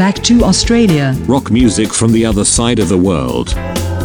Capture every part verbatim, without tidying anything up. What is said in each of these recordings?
back to Australia. Rock music from the other side of the world.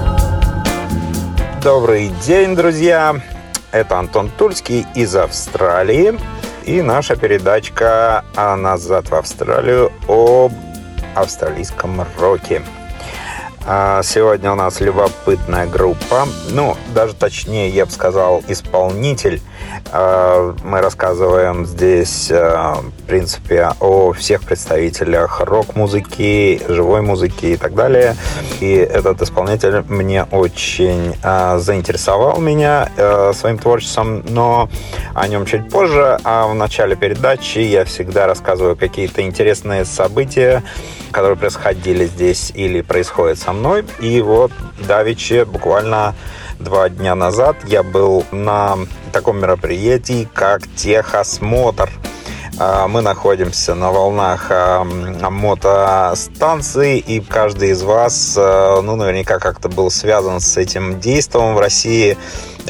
Добрый день, друзья! Это Антон Тульский из Австралии. И наша передачка «Назад в Австралию» об австралийском роке. Сегодня у нас любопытная группа. Ну, даже точнее, я бы сказал, исполнитель. Мы рассказываем здесь, в принципе, о всех представителях рок-музыки, живой музыки и так далее. И этот исполнитель мне очень заинтересовал меня своим творчеством, но о нем чуть позже. А в начале передачи я всегда рассказываю какие-то интересные события, которые происходили здесь или происходят со мной. И вот давеча, буквально два дня назад, я был на таком мероприятии, как Техосмотр. Мы находимся на волнах мотостанции, и каждый из вас, ну, наверняка как-то был связан с этим действом в России.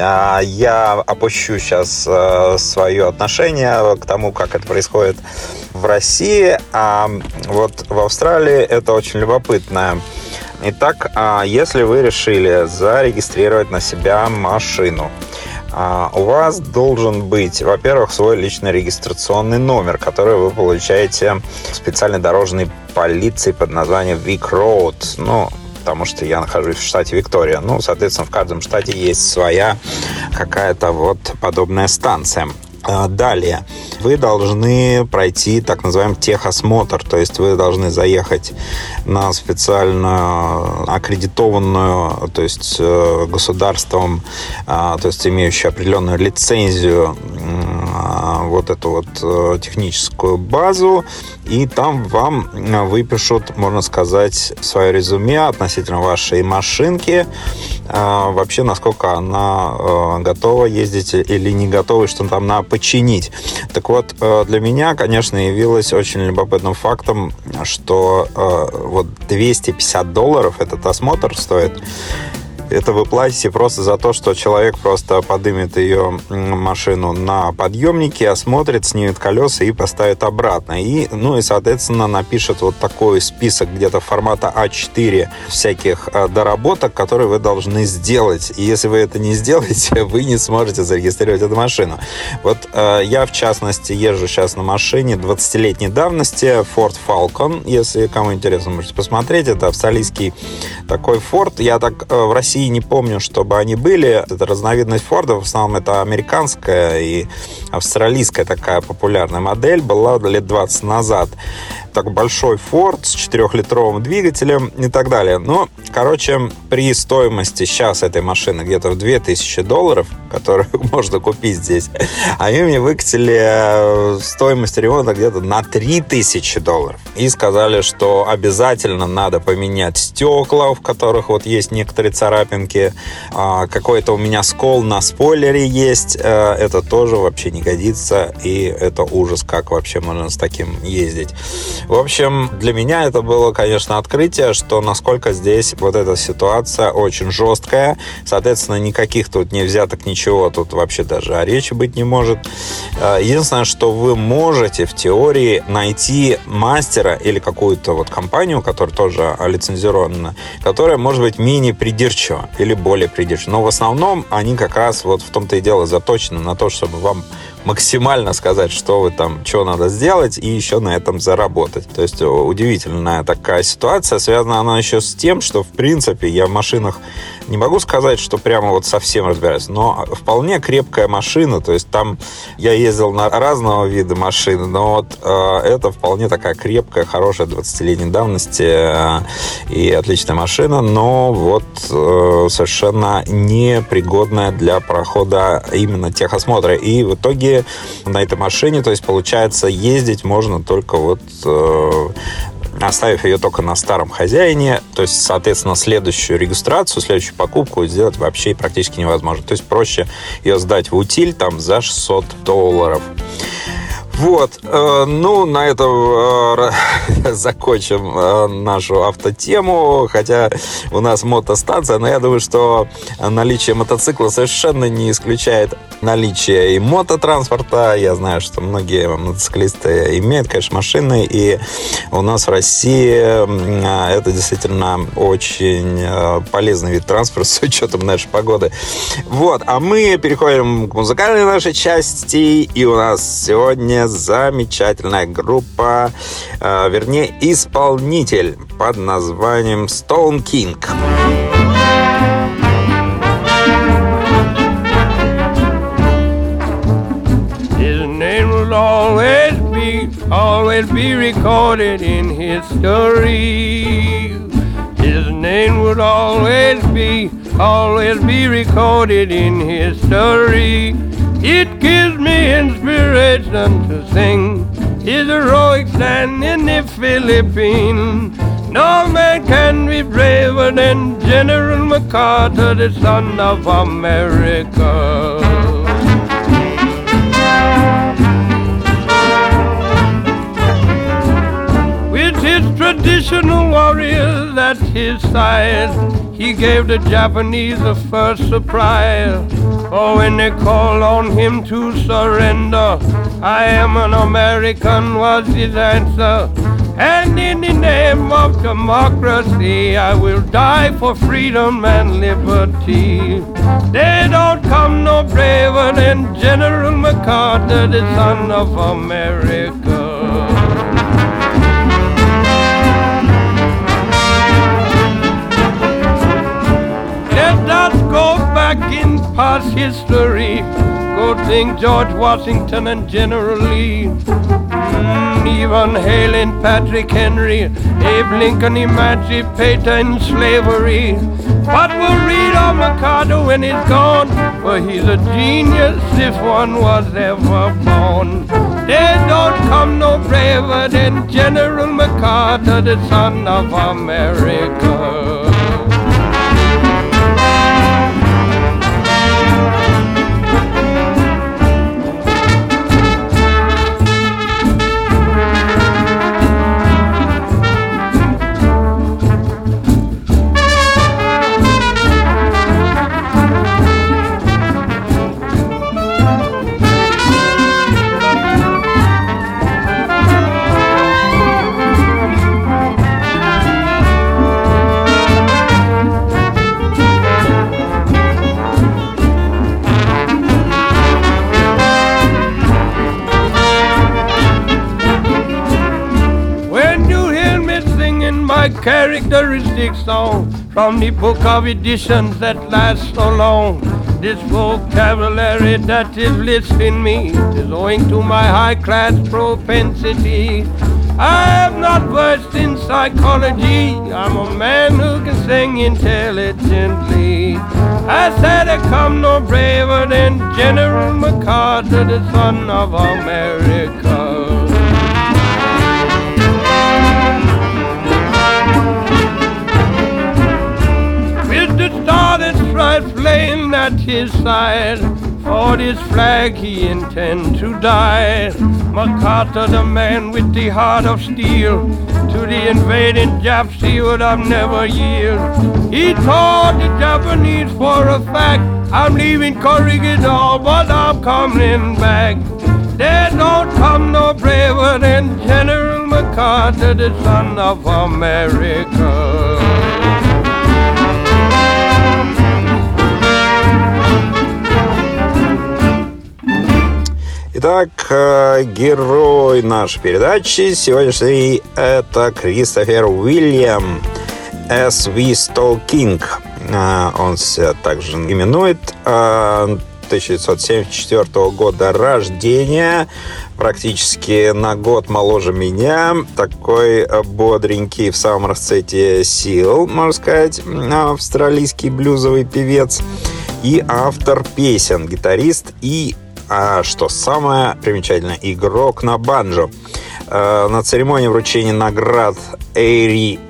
Я опущу сейчас свое отношение к тому, как это происходит в России, а вот в Австралии это очень любопытно. Итак, если вы решили зарегистрировать на себя машину, у вас должен быть, во-первых, свой личный регистрационный номер, который вы получаете в специальной дорожной полиции под названием Vic Road. Ну, потому что я нахожусь в штате Виктория. Ну, соответственно, в каждом штате есть своя какая-то вот подобная станция. Далее, вы должны пройти так называемый техосмотр, то есть вы должны заехать на специально аккредитованную, то есть государством, то есть имеющую определенную лицензию, вот эту вот техническую базу, и там вам выпишут, можно сказать, свое резюме относительно вашей машинки, вообще насколько она готова ездить или не готова, и что там на починить. Так вот, для меня, конечно, явилось очень любопытным фактом, что вот двести пятьдесят долларов этот осмотр стоит. Это вы платите просто за то, что человек просто поднимет ее машину на подъемнике, осмотрит, снимет колеса и поставит обратно. И, ну и, соответственно, напишет вот такой список где-то формата а четыре всяких доработок, которые вы должны сделать. И если вы это не сделаете, вы не сможете зарегистрировать эту машину. Вот э, я, в частности, езжу сейчас на машине двадцатилетней давности Ford Falcon. Если кому интересно, можете посмотреть. Это австралийский такой Ford. Я так э, в России не помню, чтобы они были. Это разновидность Форда, в основном это американская и австралийская такая популярная модель, была лет двадцать назад. Так большой Форд с четырехлитровым двигателем и так далее. Но, короче, при стоимости сейчас этой машины где-то в две тысячи долларов, которую можно купить здесь, они мне выкатили стоимость ремонта где-то на три тысячи долларов. И сказали, что обязательно надо поменять стекла, в которых вот есть некоторые царапинки. Какой-то у меня скол на спойлере есть. Это тоже вообще не годится. И это ужас, как вообще можно с таким ездить. В общем, для меня это было, конечно, открытие, что насколько здесь вот эта ситуация очень жесткая. Соответственно, никаких тут не взяток, ничего тут вообще даже о речи быть не может. Единственное, что вы можете в теории найти мастера или какую-то вот компанию, которая тоже лицензирована, которая может быть менее придирчива или более придирчива. Но в основном они как раз вот в том-то и дело заточены на то, чтобы вам максимально сказать, что вы там, что надо сделать, и еще на этом заработать. То есть удивительная такая ситуация. Связана она еще с тем, что, в принципе, я в машинах не могу сказать, что прямо вот совсем разбираюсь, но вполне крепкая машина. То есть там я ездил на разного вида машины, но вот э, это вполне такая крепкая, хорошая двадцатилетней давности э, и отличная машина, но вот э, совершенно непригодная для прохода именно техосмотра. И в итоге на этой машине, то есть получается, ездить можно только вот э, оставив ее только на старом хозяине, то есть, соответственно, следующую регистрацию, следующую покупку сделать вообще практически невозможно. То есть проще ее сдать в утиль там за шестьсот долларов. Вот, э, ну, на этом э, закончим э, нашу автотему, хотя у нас мотостанция, но я думаю, что наличие мотоцикла совершенно не исключает наличие и мототранспорта. Я знаю, что многие мотоциклисты имеют, конечно, машины, и у нас в России э, это действительно очень э, полезный вид транспорта с учетом нашей погоды. Вот, а мы переходим к музыкальной нашей части, и у нас сегодня замечательная группа, э, вернее, исполнитель под названием Stone King. His name will always be, always be recorded in history. His name would always be, always be recorded in history. It gives me inspiration to sing his heroic stand in the Philippines. No man can be braver than General MacArthur, the son of America. With his traditional warriors at his side, he gave the Japanese a first surprise. Oh, when they called on him to surrender, I am an American was his answer. And in the name of democracy, I will die for freedom and liberty. They don't come no braver than General MacArthur, the son of America. Let us go back in past history. Go think George Washington and General Lee. Mm, even hailing Patrick Henry, Abe Lincoln emancipating slavery. But we'll read of MacArthur when he's gone, for he's a genius if one was ever born. They don't come no braver than General MacArthur, the son of America. Characteristic song from the book of editions that last so long. This vocabulary that is listing me is owing to my high-class propensity. I am not versed in psychology. I'm a man who can sing intelligently. I said I come no braver than General MacArthur, the son of America. Started strife flame at his side. For this flag he intend to die. MacArthur, the man with the heart of steel, to the invading Japs he would have never yield. He told the Japanese for a fact, I'm leaving Corregidor, but I'm coming back. There don't come no braver than General MacArthur, the son of America. Итак, герой нашей передачи сегодняшней — это Кристофер Уильям, эс ви Stone King. Он себя также именует. тысяча девятьсот семьдесят четвёртого года рождения, практически на год моложе меня. Такой бодренький, в самом расцвете сил, можно сказать, австралийский блюзовый певец и автор песен, гитарист и, а что самое примечательное, игрок на банджо. На церемонии вручения наград Эйри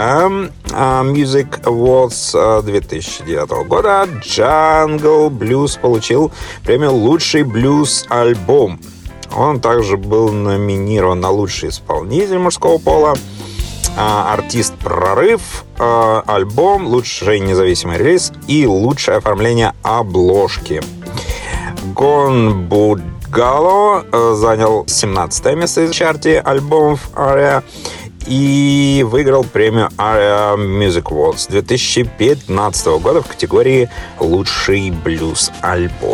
Music Awards две тысячи девятого года Jungle Blues получил премию «Лучший блюз-альбом». Он также был номинирован на лучший исполнитель мужского пола, артист «Прорыв», альбом, лучший независимый релиз и лучшее оформление обложки. Гон Будгало занял семнадцатое место в чарте альбомов Aria и выиграл премию Aria Music Awards две тысячи пятнадцатого года в категории «Лучший блюз-альбом».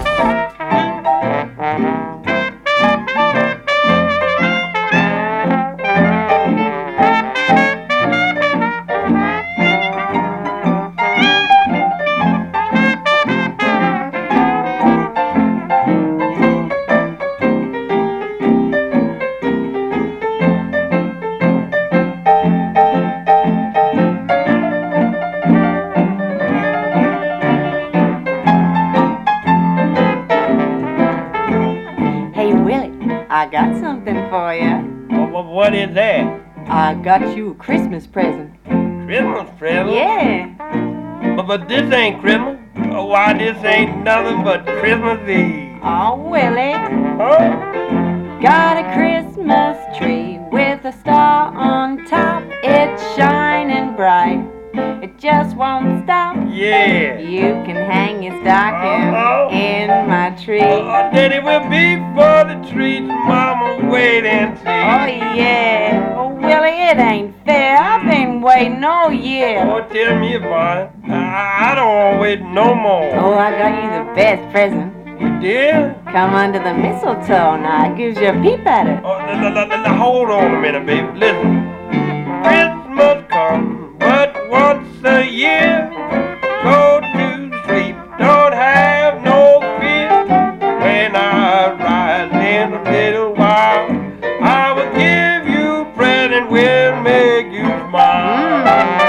I got something for you. Well, what is that? I got you a Christmas present. Christmas present? Yeah. But, but this ain't Christmas. Oh, why, this ain't nothing but Christmas Eve. Oh, Willie. Huh? Got a Christmas tree with a star on top. It's shining bright. It just won't stop. Yeah. You can hang your stocking Uh-oh. in my tree. Oh, Daddy will be for the treats. Mama, wait and see. Oh, yeah. Oh, Willie, it ain't fair. I've been waiting all year. Oh, tell me about it. I, I don't want to wait no more. Oh, I got you the best present. You did? Come under the mistletoe now. It gives you a peep at it. Oh, n- n- n- n- hold on a minute, baby. Listen. Christmas comes but once a year. Go to sleep, don't have no fear. When I rise in a little while, I will give you a present, will make you smile.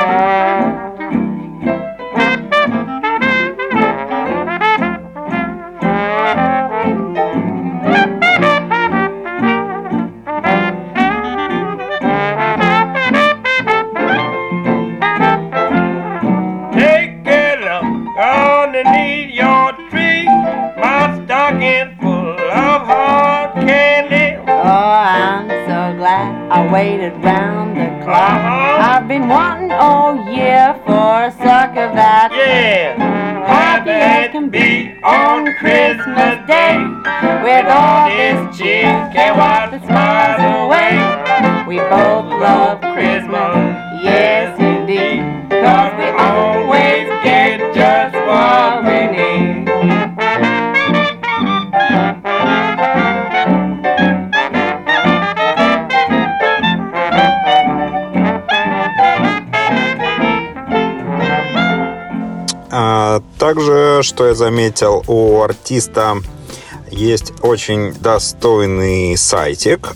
Take a look underneath your tree, my stocking full of hard candy. Oh, I'm so glad I waited round the clock. Uh-huh. I've been wanting all year for a sucker that Yeah, happy as can be on Christmas Day. With all this cheer, can't wipe the smiles away. We both love Christmas, yes indeed, 'cause we always get just what we need. А, также, что я заметил, у артиста есть очень достойный сайтик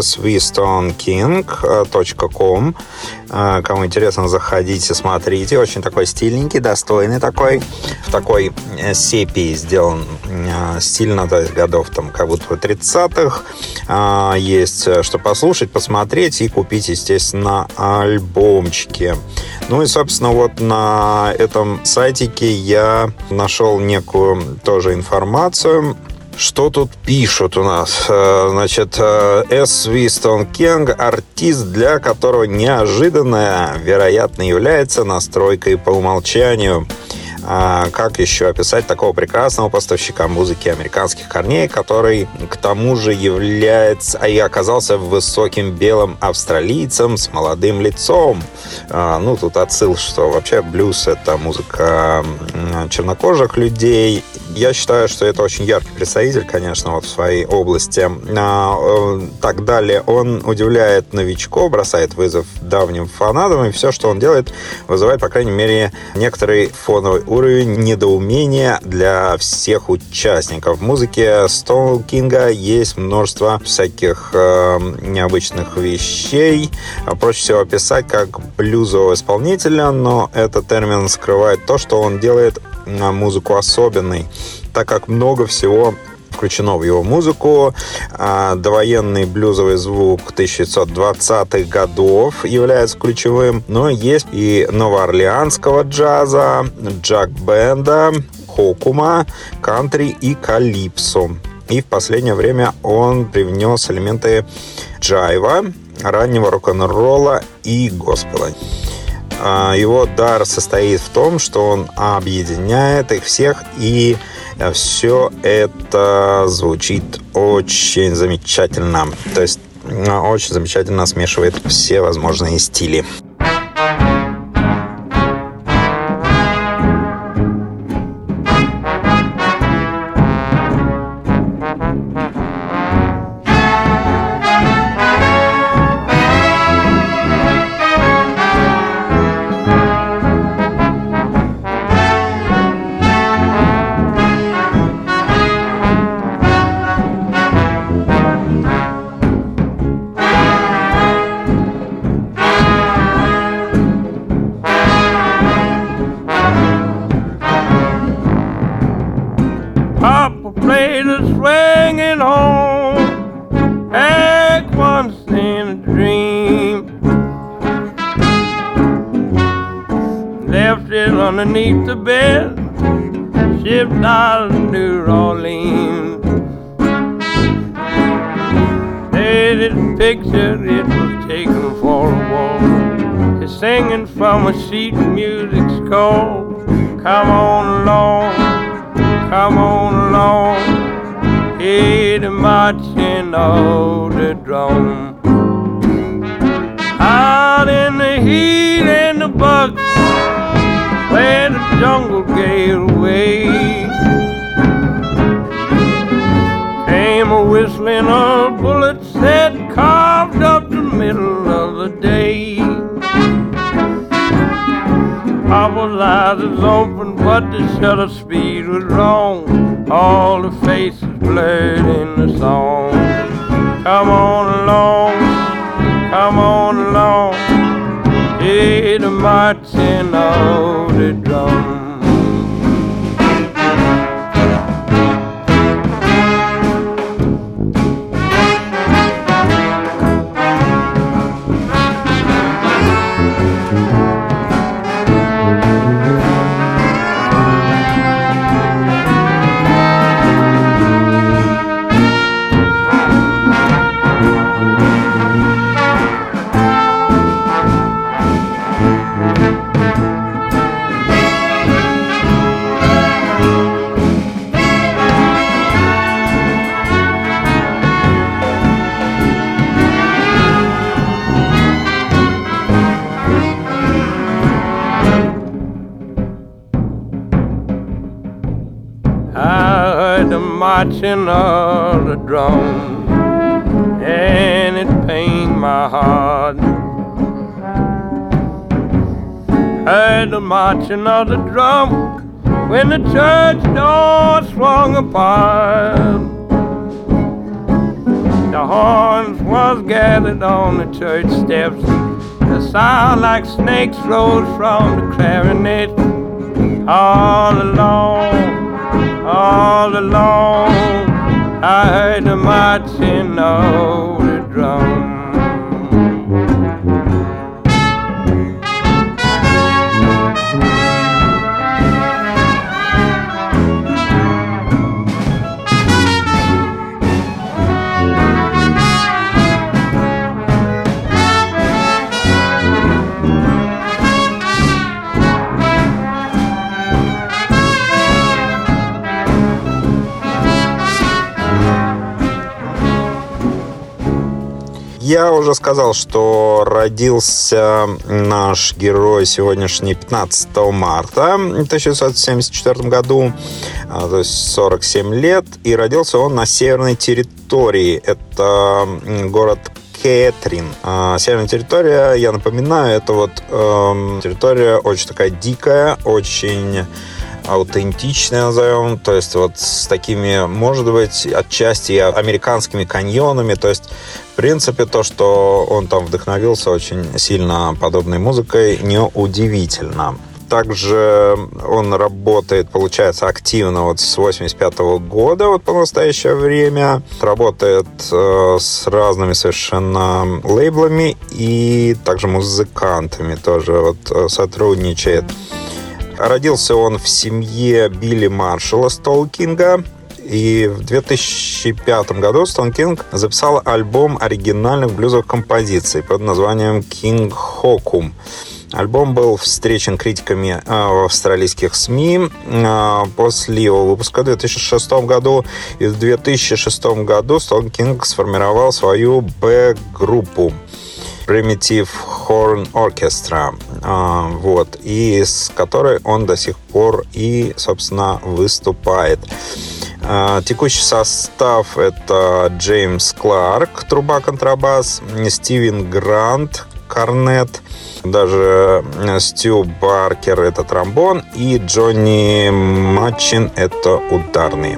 swistonking точка ком. Кому интересно, заходите, смотрите. Очень такой стильненький, достойный такой. В такой сепии сделан стильно, то есть годов там как будто тридцатых. Есть что послушать, посмотреть и купить, естественно, альбомчики. Ну и, собственно, вот на этом сайтике я нашел некую тоже информацию. Что тут пишут у нас? Значит, С. Вистон Кинг – артист, для которого неожиданное, вероятно, является настройкой по умолчанию. А как еще описать такого прекрасного поставщика музыки американских корней, который к тому же является, а и оказался высоким белым австралийцем с молодым лицом. А, ну, тут отсыл, что вообще блюз — это музыка чернокожих людей. Я считаю, что это очень яркий представитель, конечно, вот в своей области. А, так далее, он удивляет новичков, бросает вызов давним фанатам, и все, что он делает, вызывает, по крайней мере, некоторый фоновый уровень недоумения для всех участников. В музыке Стоун Кинга есть множество всяких э, необычных вещей. Проще всего описать как блюзового исполнителя, но этот термин скрывает то, что он делает музыку особенной, так как много всего включено в его музыку. Довоенный блюзовый звук тысяча девятьсот двадцатых годов является ключевым, но есть и новоорлеанского джаза, джаг-бенда, хокума, кантри и калипсо. И в последнее время он привнес элементы джайва, раннего рок-н-ролла и госпела. Его дар состоит в том, что он объединяет их всех, и все это звучит очень замечательно. То есть очень замечательно смешивает все возможные стили. Underneath the bed, shipped out of New Orleans. Hey, this picture, it was taken for a walk. It's singing from a sheet music's call. Come on along, come on along. Hey, the marching of the drum. Out in the heat and the bugs, where the jungle gave away, came a whistling of bullets that carved up the middle of the day. Papa's eyes was open, but the shutter speed was wrong. All the faces blurred in the song. Come on along, come on along. Hey, the marching of the drum. Marching of the drum, and it pained my heart. Heard the marching of the drum when the church door swung apart. The horns was gathered on the church steps. The sound like snakes rose from the clarinet. All along, all along, I heard the marching of the drum. Я уже сказал, что родился наш герой сегодняшний пятнадцатого марта тысяча девятьсот семьдесят четвёртом году, то есть сорок семь лет, и родился он на северной территории. Это город Кэтрин. Северная территория, я напоминаю, это вот э, территория очень такая дикая, очень аутентичная, назовем, то есть вот с такими, может быть, отчасти американскими каньонами, то есть в принципе то, что он там вдохновился очень сильно подобной музыкой, неудивительно. Также он работает, получается, активно вот с восемьдесят пятого года вот по настоящее время. Работает э, с разными совершенно лейблами и также музыкантами тоже вот э, сотрудничает. Родился он в семье Билли Маршалла Столкинга. И в две тысячи пятом году Stone King записал альбом оригинальных блюзовых композиций под названием King Hokum. Альбом был встречен критиками в австралийских СМИ после его выпуска в две тысячи шестом году. И в две тысячи шестом году Stone King сформировал свою Б-группу Primitive Horn Orchestra, вот, и с которой он до сих пор и, собственно, выступает. Текущий состав — это Джеймс Кларк, труба, контрабас, Стивен Грант, корнет, даже Стю Баркер — это тромбон, и Джонни Матчин — это ударные.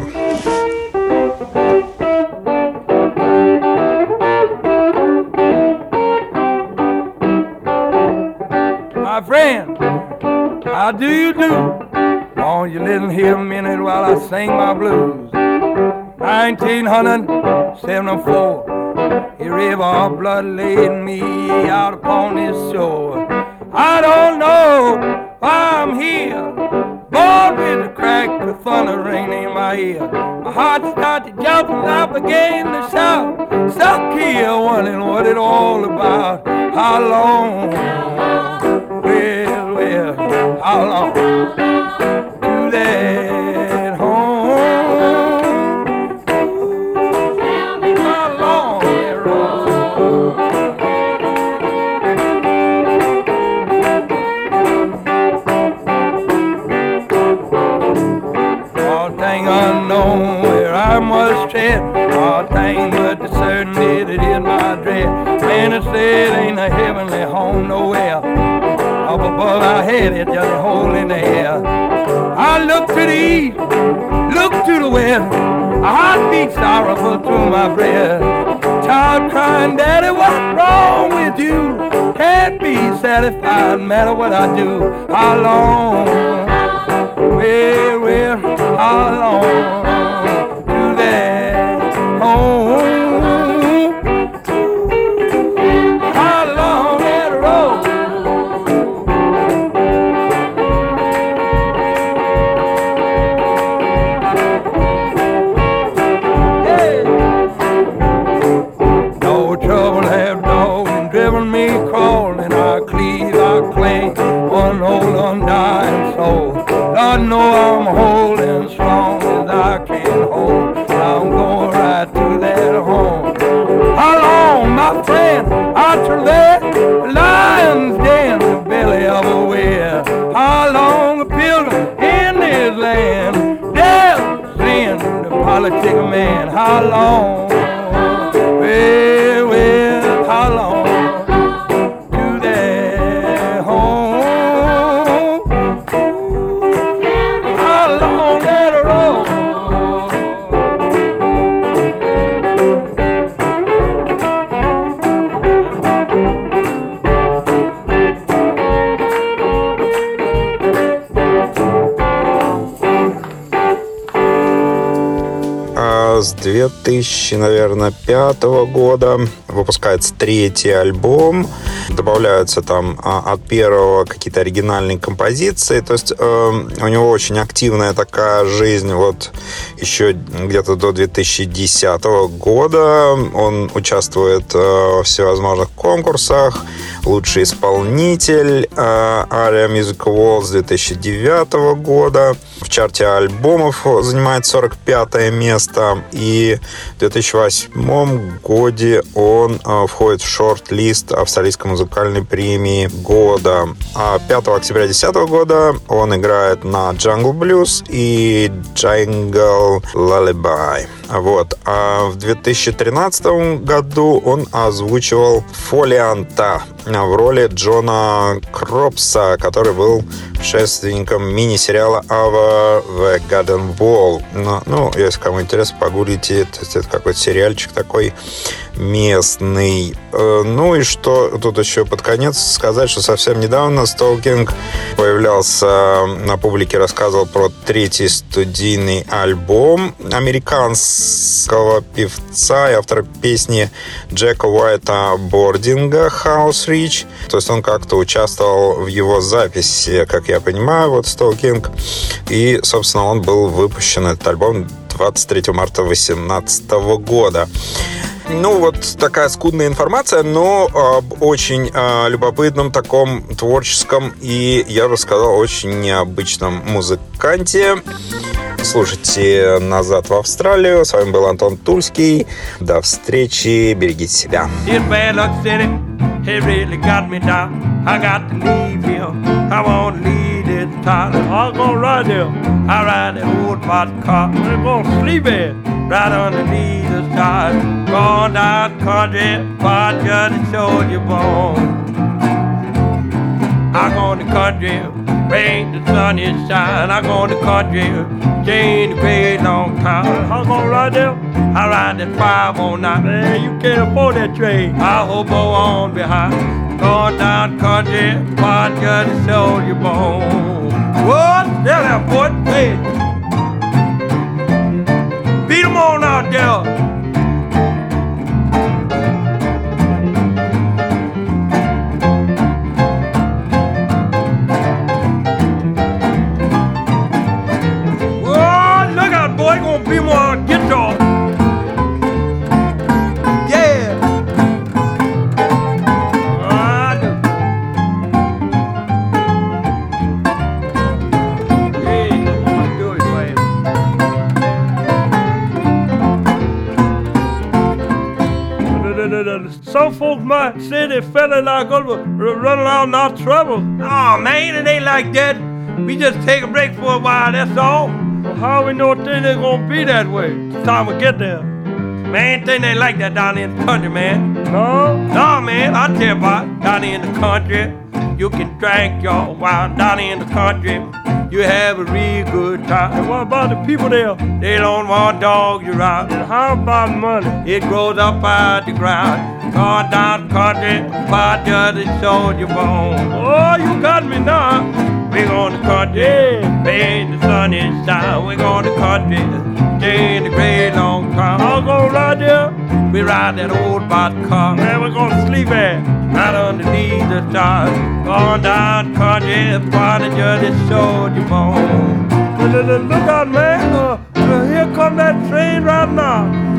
My friend, how do you do? Won't you listen here a minute while I sing my blues? nineteen seventy-four, a river of blood laid me out upon this shore. I don't know why I'm here, born with the crack of thunder ringing in my ear. My heart started jumping, I began to shout, stuck here wondering what it all about. How long, well, well, how long to that home? How long that road? All thing unknown where I must tread, all thing but the certainty that is my dread. Man, it said ain't a heavenly home nowhere. Up above our head, it's just a hole in the air. I look to the east, look to the west. A heart beats sorrowful through my breast. Child crying, Daddy, what's wrong with you? Can't be satisfied, no matter what I do. How long? Well, well, how long do that home? How long that road? Hey. No trouble have dogged and driven me crawling. I cleave, I cling, one old undying soul. I know I'm holding strong as I can hold. I'm going right to that home. How long, my friend, I travail the lion's den, the belly of a whale. How long a pilgrim in this land, death, sin, the politic of man. How long, well, well, how long to that home? How long that road? С две тысячи, наверное, пятого года выпускается третий альбом. Добавляются там от первого какие-то оригинальные композиции. То есть э, у него очень активная такая жизнь. Вот еще где-то до две тысячи десятого года он участвует э, во всевозможных конкурсах. Лучший исполнитель э, Aria Music Awards две тысячи девятого года. В чарте альбомов занимает сорок пятое место. И в две тысячи восьмом году он э, входит в шорт-лист австралийской музыкальной премии года. А пятого октября две тысячи десятого года он играет на Jungle Blues и Jungle Lullaby. Вот. А в две тысячи тринадцатом году он озвучивал Фолианта в роли Джона Кропса, который был предшественником мини-сериала Ava the Garden Wall. Ну, ну, если кому интересно, погуглите. То есть это какой-то сериальчик такой местный. Ну и что тут еще под конец сказать, что совсем недавно Stone King появлялся на публике, рассказывал про третий студийный альбом американского певца и автора песни Джека Уайта Бординга «House Rich». То есть он как-то участвовал в его записи, как я понимаю, вот Stone King. И, собственно, он был выпущен, этот альбом, в двадцать третьего марта две тысячи восемнадцатого года. Ну, вот такая скудная информация, но об очень э, любопытном таком творческом и, я бы сказал, очень необычном музыканте. Слушайте «Назад в Австралию». С вами был Антон Тульский. До встречи. Берегите себя. He really got me down. I got to leave him. I won't leave this town. I'm gonna ride him. I ride the old boxcar. We're gonna sleep in right underneath the stars. Gone down country, but just to show you bone. I go to country, rain the sun is shine. I go to country, change the gray long time. I'm gonna ride there. I ride that five oh nine. Man, you can't afford that train. I hope on behind. Going down country, but just to show you bone. What? There, that boy. Hey. Beat 'em on out there. Boy, gonna be more guitar. Yeah. I do. Yeah, I'm gonna do it, man. Some folks might say they fella like us run around not trouble. Oh man, it ain't like that. We just take a break for a while, that's all. How we know things ain't gonna be that way? It's time we get there. Man, things ain't like that down in the country, man. No? No, man, I tell you about it. Down in the country, you can drink your wine. Down in the country, you have a real good time. And what about the people there? They don't want dogs around. And how about money? It grows up out the ground. Gone down the country, but just to show your bone. Oh, you got me now. We're going to country, man, the sun is down. We're going to country, stay in the great long time. I'll go right there. We ride that old boxcar. Man, we're going to sleep at right underneath the stars. Going down country, find a judge that showed you bone. Look out, man. Uh, uh, here come that train right now.